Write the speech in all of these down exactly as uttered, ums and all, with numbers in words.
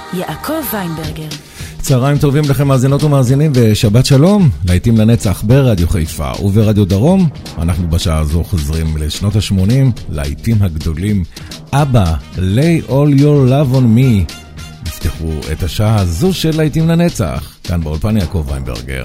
יעקב ויינברגר. צהריים טובים לכם מאזינות ומאזינים ושבת שלום, להיטים לנצח ברדיו חיפה וברדיו דרום. אנחנו בשעה הזו חוזרים לשנות ה-שמונים, להיטים הגדולים. אבא, lay all your love on me. נפתחו את השעה הזו של להיטים לנצח, כאן באולפן יעקב ויינברגר.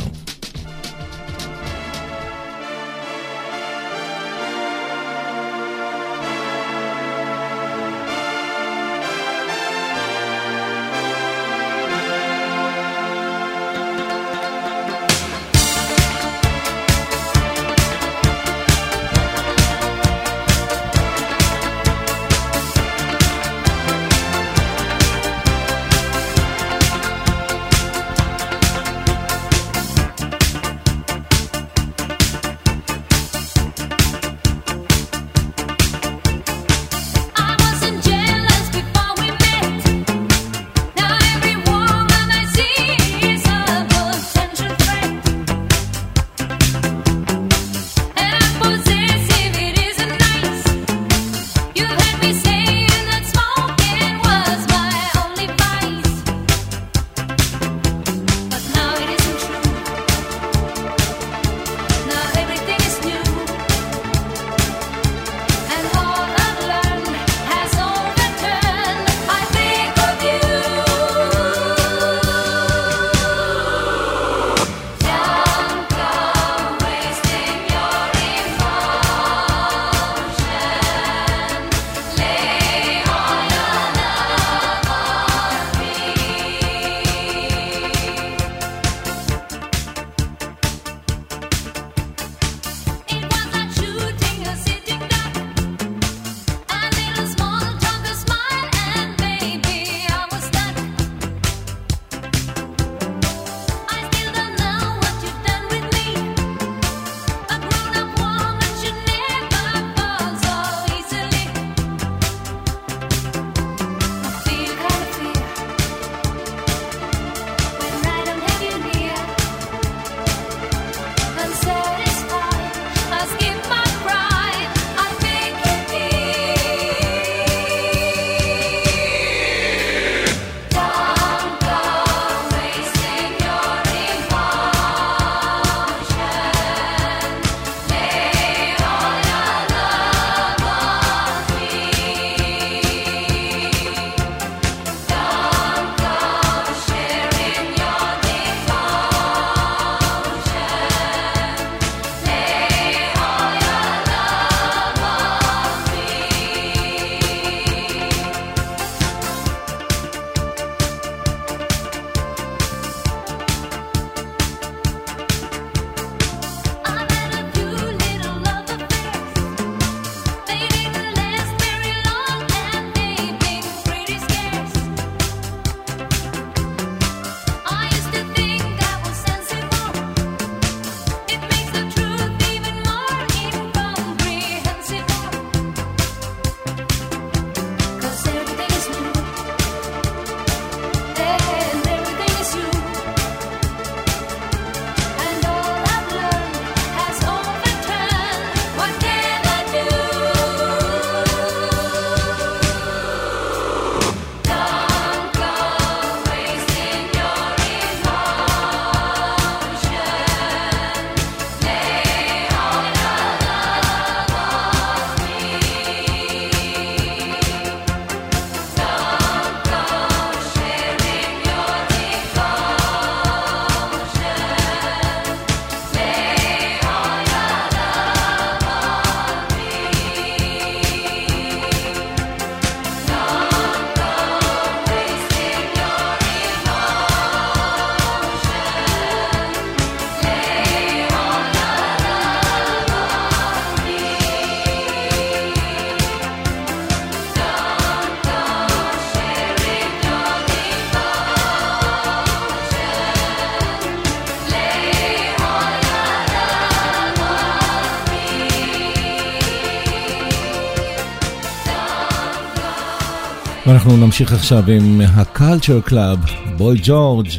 ואנחנו נמשיך עכשיו עם הקלצ'ר קלאב, בוי ג'ורג',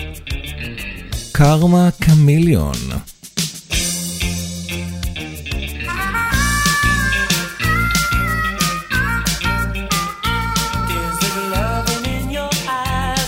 קרמה קמיליון. Is there loving in your eyes?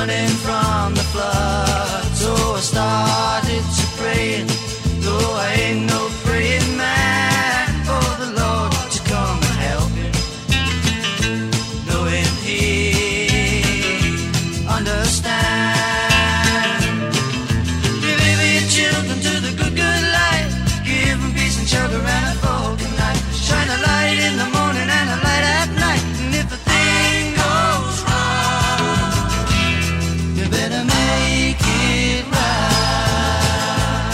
running from the flood. So I started to pray, though I ain't no praying man, for the Lord to come and help him, knowing he understand. Deliver your children to the good, good life, give them peace and shelter and a foggy night. Shine a light in the morning and a light at night. And if a thing goes wrong, you better make it right.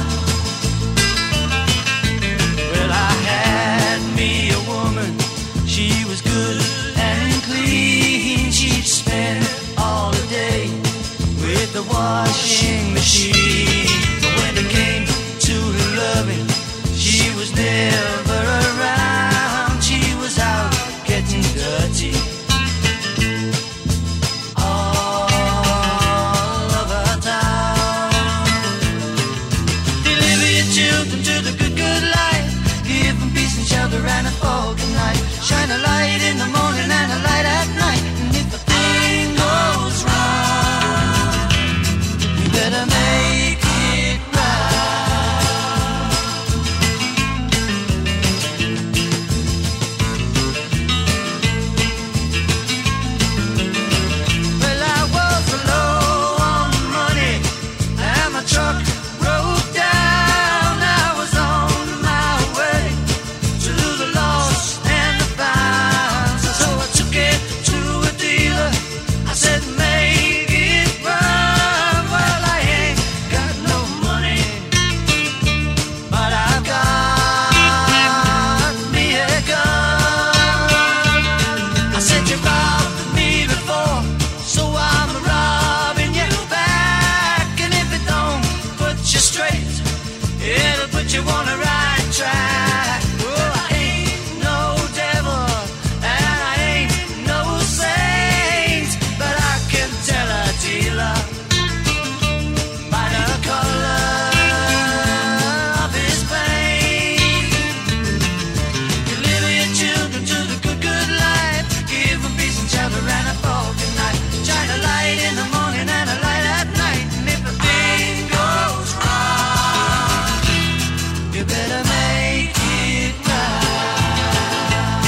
Well, I had me a woman, she was good and clean. She'd spend all the day with the washing machine. But when it came to loving, she was never around. She was out getting dirty all over town. Deliver your children to the good, good life, give them peace and shelter and a foggy night. Shine a light in the morning and a light at night. And if a thing goes wrong, you better make it right. Well, I was low on money and my truck broke down. I was on my way to the lost and the found. So I took it to a dealer, I said make it run. Well, I ain't got no money, but I've got me a gun. I said you robbed me before, so I'm robbing you back. And if it don't put you straight, it'll put you on the right track. Oh, I ain't no devil and I ain't no saint, but I can tell a dealer by the color of his paint. Deliver your children to the good, good life, give them peace and shelter and a foggy night. Shine a light in the morning and a light at night. And if a thing goes wrong, you better make it right.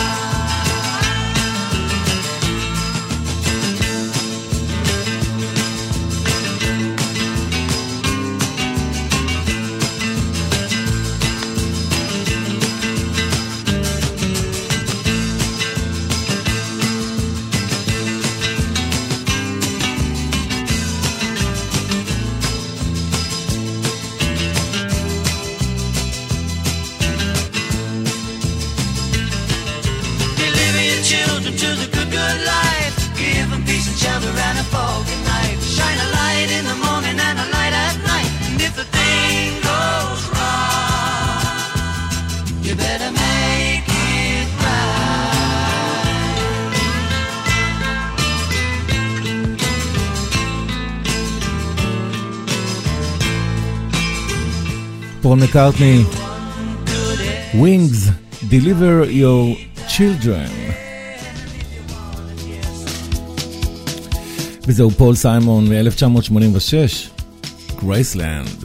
Deliver your children to the good, good life, give them peace and shelter and a foggy night. Shine a light in the morning and a light at night. And if the thing goes wrong, you better make it right. פול מקארטני, Wings, Deliver Your Children. וזהו פול סיימון מ-אלף תשע מאות שמונים ושש, Graceland.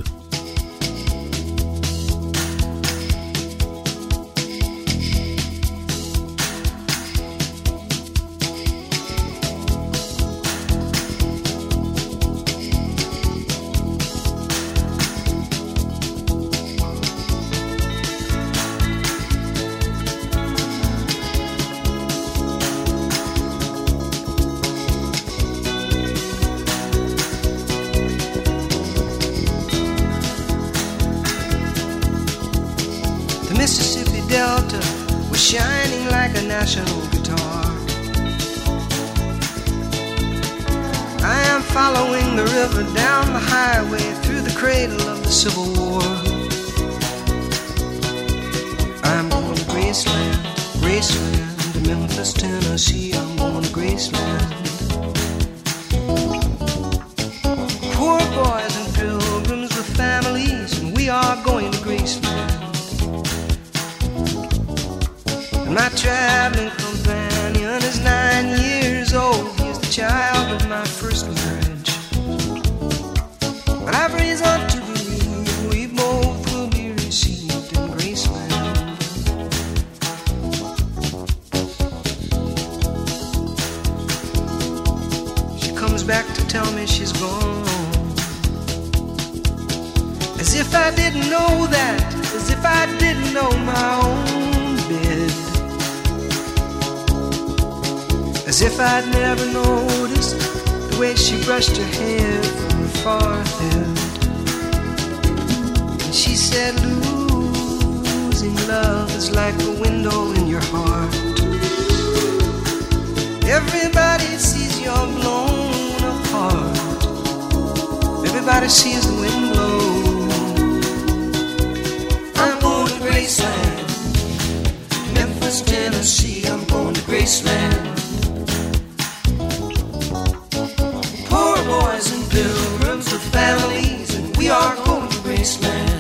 Mississippi Delta was shining like a national guitar. I am following the river down the highway through the cradle of the Civil War. I'm going to Graceland, Graceland, to Memphis, Tennessee. I'm going to Graceland. Poor boys and pilgrims with families, and we are going to Graceland. My traveling companion is nine years old. He's the child of my first marriage. back to tell me she's gone. As if I didn't know that, as if I didn't know my own bed. As if I'd never noticed the way she brushed her hair from her forehead. And she said, losing love is like a window in your heart. Everybody sees you're blown apart. Everybody sees the wind blow. I'm going to Graceland, Memphis, Tennessee. I'm going to Graceland. Poor boys and pilgrims with families, and we are going to Graceland.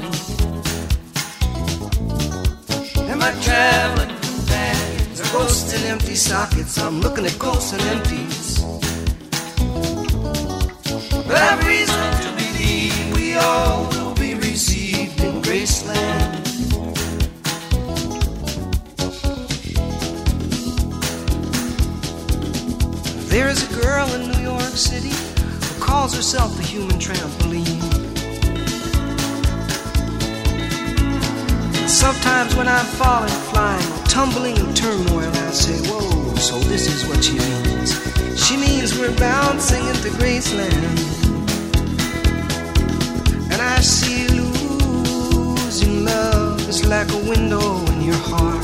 Am I traveling from bags or ghosts and empty sockets? I'm looking at ghosts and empties. But I've reason to believe we all will be received in Graceland. There is a girl in New York City who calls herself the human trampoline. Sometimes when I'm falling, flying, tumbling in turmoil, I say, whoa, so this is what she means. She means we're bouncing into Graceland. And I see losing love is like a window in your heart.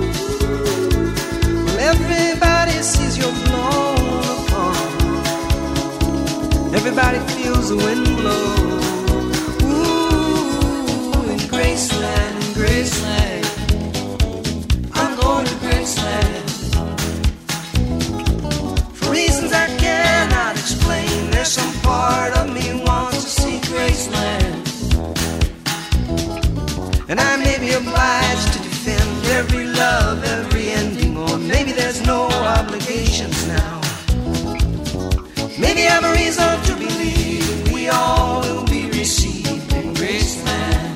Well, everybody sees you're blown apart. Everybody feels the wind blow. Ooh, in Graceland, in Graceland, I'm going to Graceland. For reasons I cannot explain, there's some part of me wants to see Graceland. And I may be obliged to defend every love, every ending, or maybe there's no obligations now. Maybe I'm a reason to believe we all will be received in Graceland.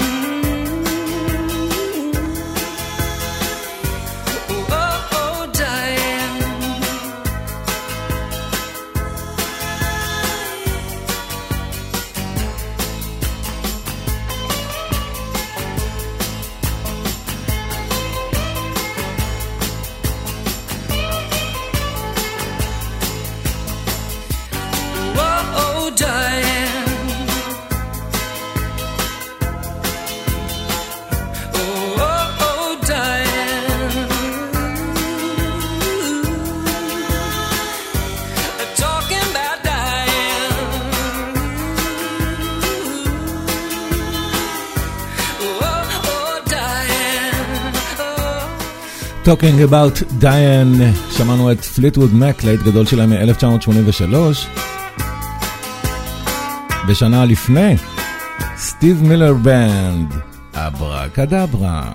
Oh, Talking about Diane, שמענו את פליטווד מק, להיט גדול שלהם מ-אלף תשע מאות שמונים ושלוש. בשנה לפני, סטיב מילר בנד, אברה קדברה.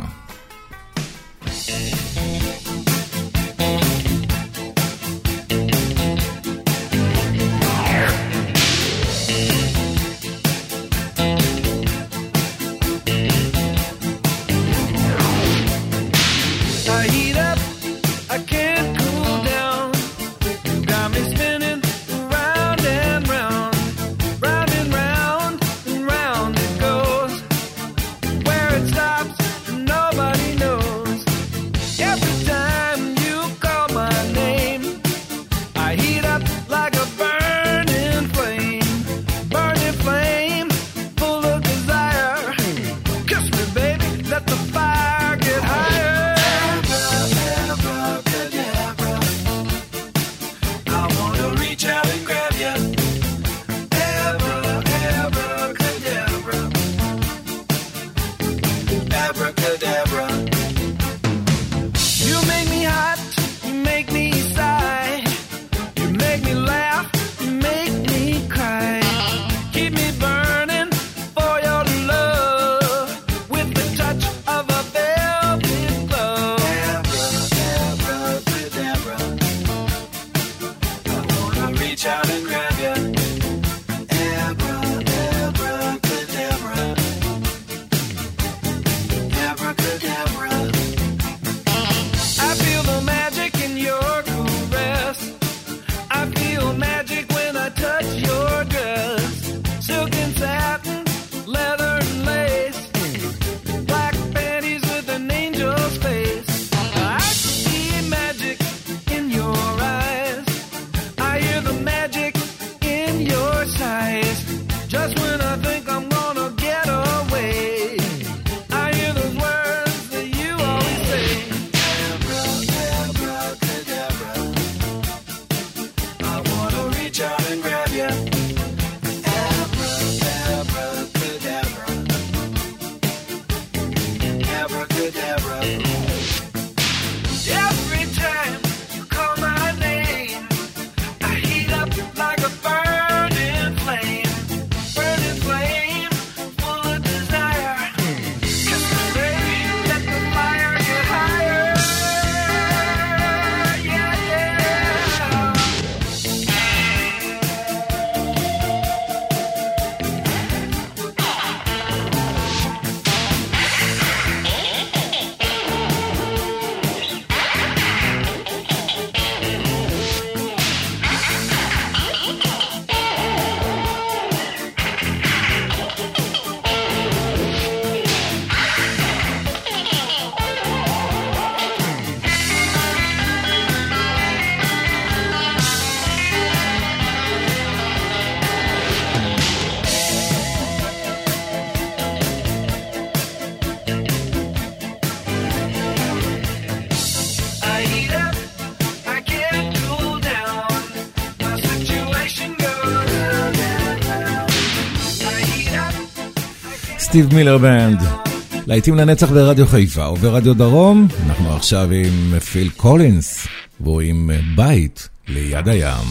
סטיב מילר בנד, להיטים לנצח ברדיו חיפה וברדיו דרום. אנחנו עכשיו עם פיל קולינס והוא עם בית ליד הים,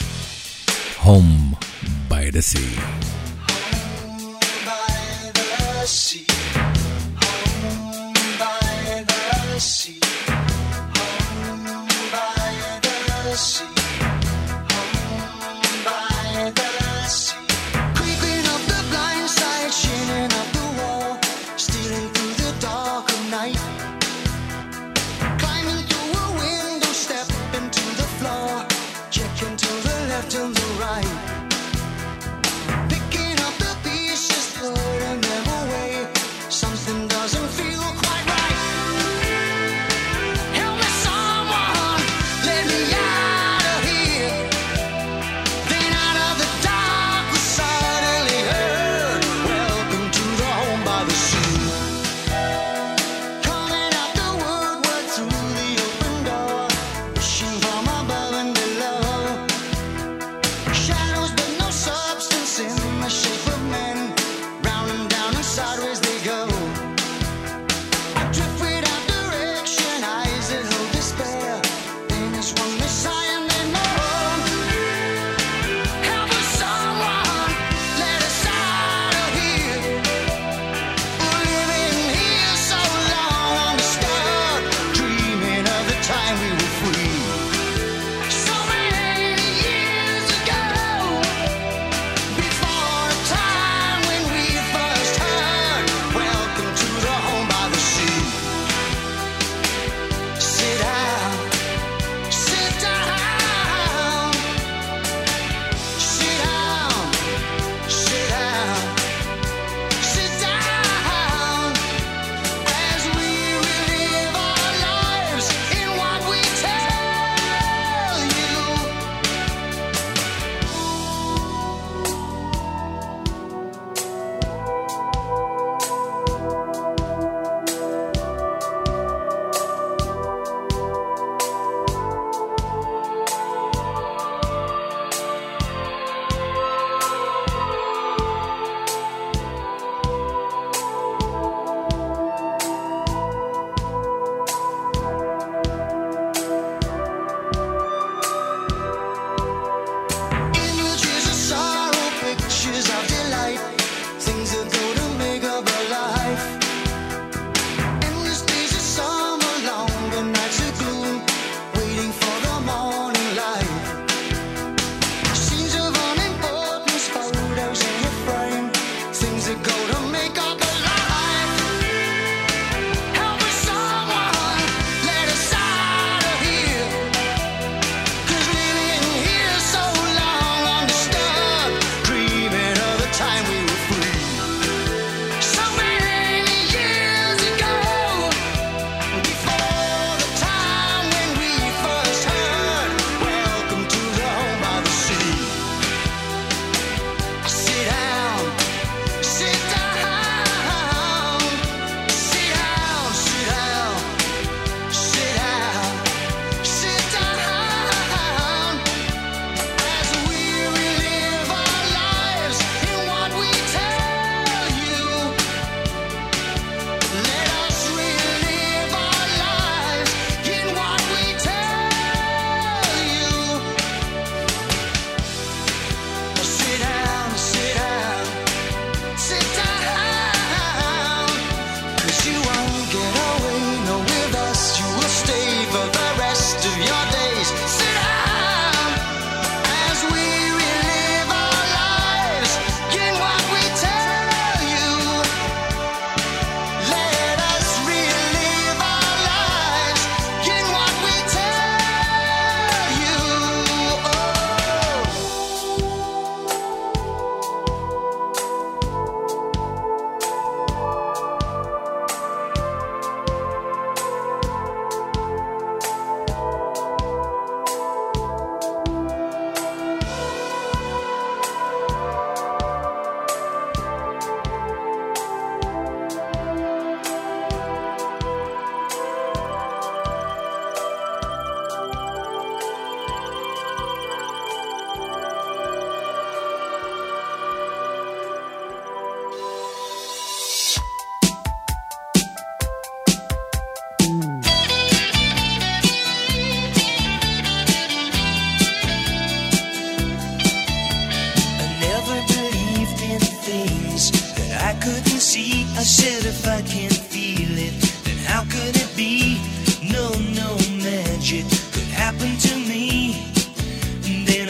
Home by the Sea. Help me someone, let me out of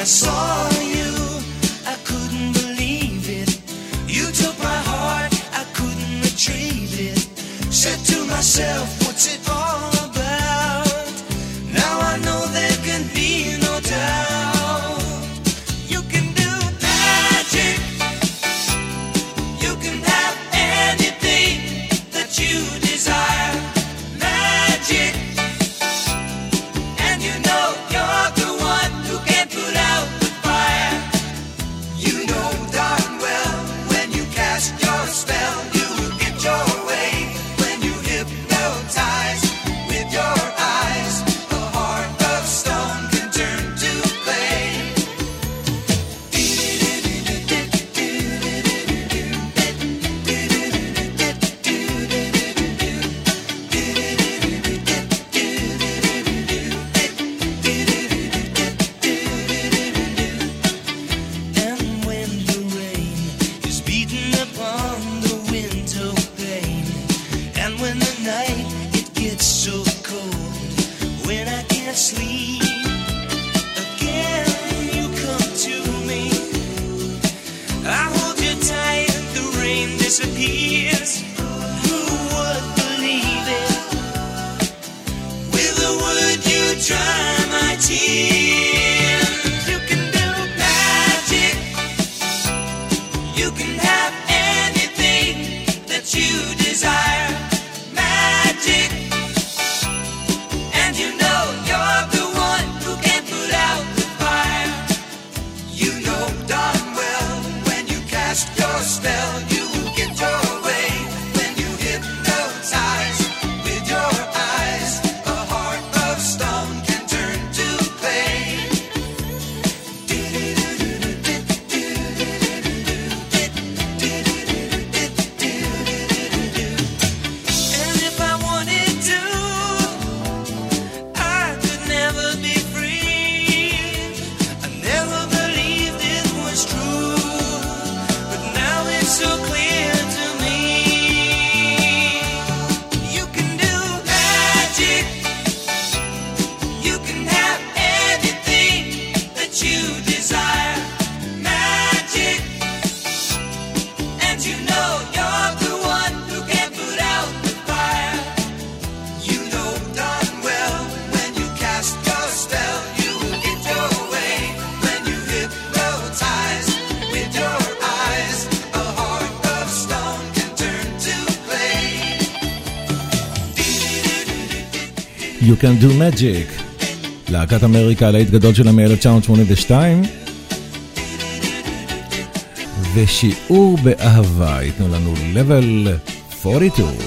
saw you, I couldn't believe it. You took my heart, I couldn't retrieve it. Said to myself, what's it all about? Now I know there can be no doubt. You can do magic. You can have anything that you desire. Magic. And you know you're the one who can put out the fire. You know darn well when you cast your spell, you will get your way. When you hypnotize with your eyes, a heart of stone can turn to clay. And when the rain is beating upon the window pane, and when the night it gets so cold, when I can't sleep, again you come to me. I hold you tight and the rain disappears. Who would believe it? With a word you dry my tears. You can do magic. You can have anything that you desire. Magic. And you know you're the one who can put out the fire. You know darn well when you cast your spell, you will get your way. When you hypnotize with your eyes, a heart of stone can turn to clay. And if I wanted to, I could never be free. I never believed it was true, but now it's so clear to me. You can do magic. You can have anything that you desire. Magic. And you know you're the one who can put out the fire. You know darn well when you cast your spell, you will get your way. When you hypnotize with your eyes, a heart of stone can turn to clay. You can do magic. להקת אמריקה, להיט גדול שלה מ-אלף תשע מאות שמונים ושתיים. ושיעור באהבה, ייתנו לנו level ארבעים ושתיים.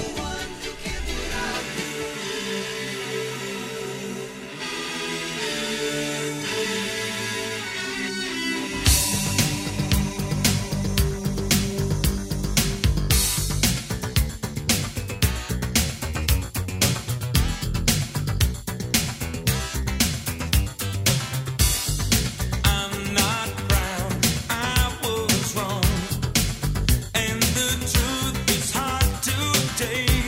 I'm not proud, I was wrong, and the truth is hard to take.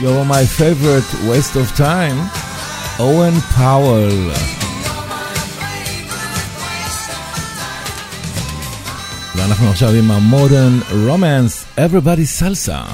You're my favorite waste of time, אוהן פאוול. ואנחנו עכשיו עם המודרן רומנס, Everybody Salsa.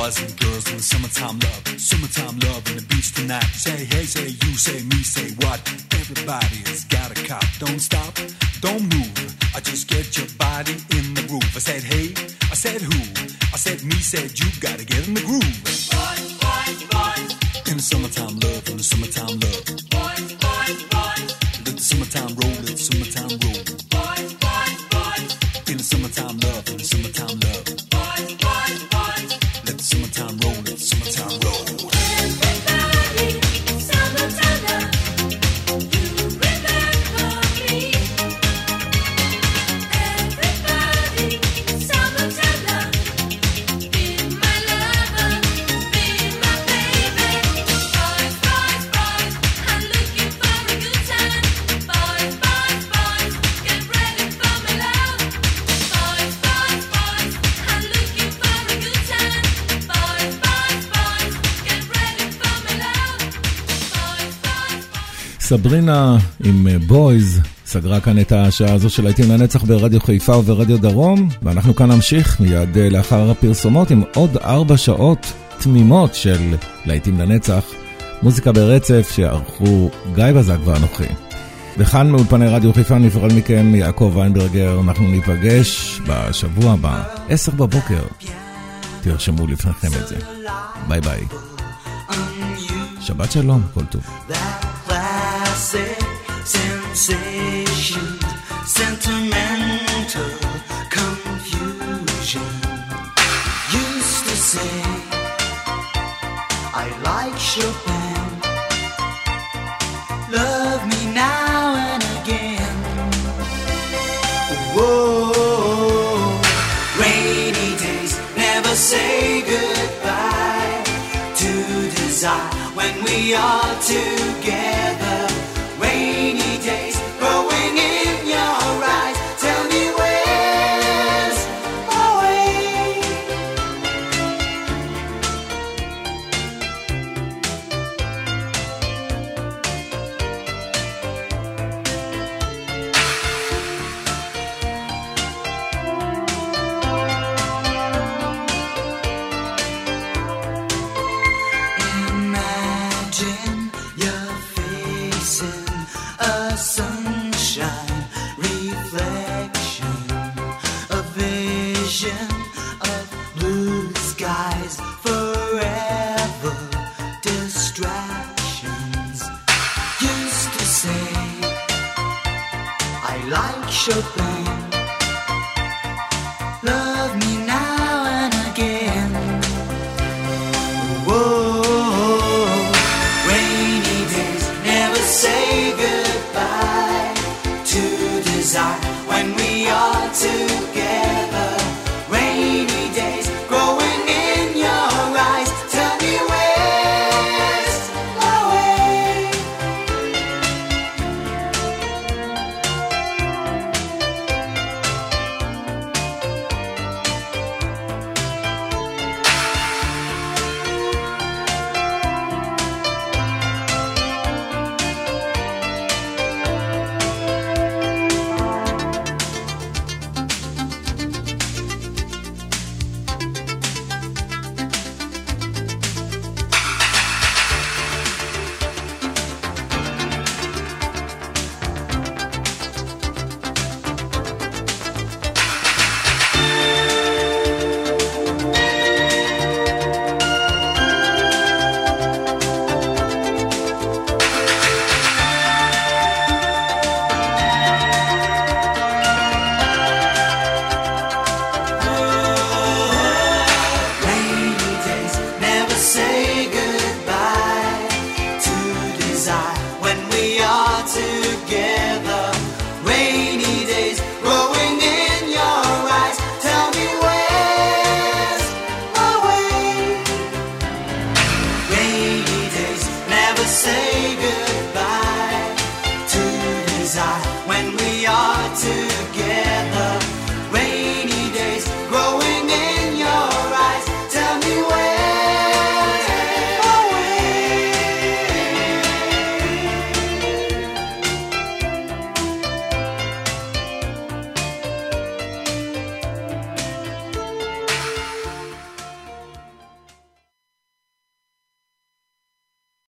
boys and girls in the summertime love, summertime love on the beach tonight. Say hey, say you, say me, say what? Everybody's got a cop. Don't stop, don't move. I just get your body in the groove. I said hey, I said who? I said me, said you. Gotta get in the groove. Boys, boys, boys. In the summertime love, in the summertime love. Boys, boys, boys. Let the summertime roll, let the summertime roll. Boys, boys, boys. In the summertime love, in the summertime love. Boys, boys, boys. Let the summertime roll, let the summertime roll. Everybody, summertime love. You remember me. Everybody, summertime love. Be my lover, be my baby. Boys, boys, boys, I'm looking for a good time. Boys, boys, boys, get ready for my love. Boys, boys, boys, I'm looking for a good time. Boys, boys, boys, get ready for my love. Boys, boys, boys. סברינה עם בויז סגרה כאן את השעה הזו של להיטים לנצח ברדיו חיפה וברדיו דרום, ואנחנו כאן נמשיך מיד לאחר הפרסומות עם עוד ארבע שעות תמימות של להיטים לנצח, מוזיקה ברצף שערכו גיא בזק ואנוכי. וכאן מאולפני רדיו חיפה נפרד מכם יעקב ויינברגר. אנחנו ניפגש בשבוע הבא עשר בבוקר, תרשמו לפניכם את זה. ביי ביי, שבת שלום, כל טוב. That classic sensation, sentimental confusion. Used to say I like Chopin. Love me now and again. Whoa, rainy days never say goodbye to desire when we are together. Rainy days growing in your eyes. Tell me where's my way. Imagine you're facing a sunshine reflection, a vision of blue skies, forever distractions. Used to say I like Chopin.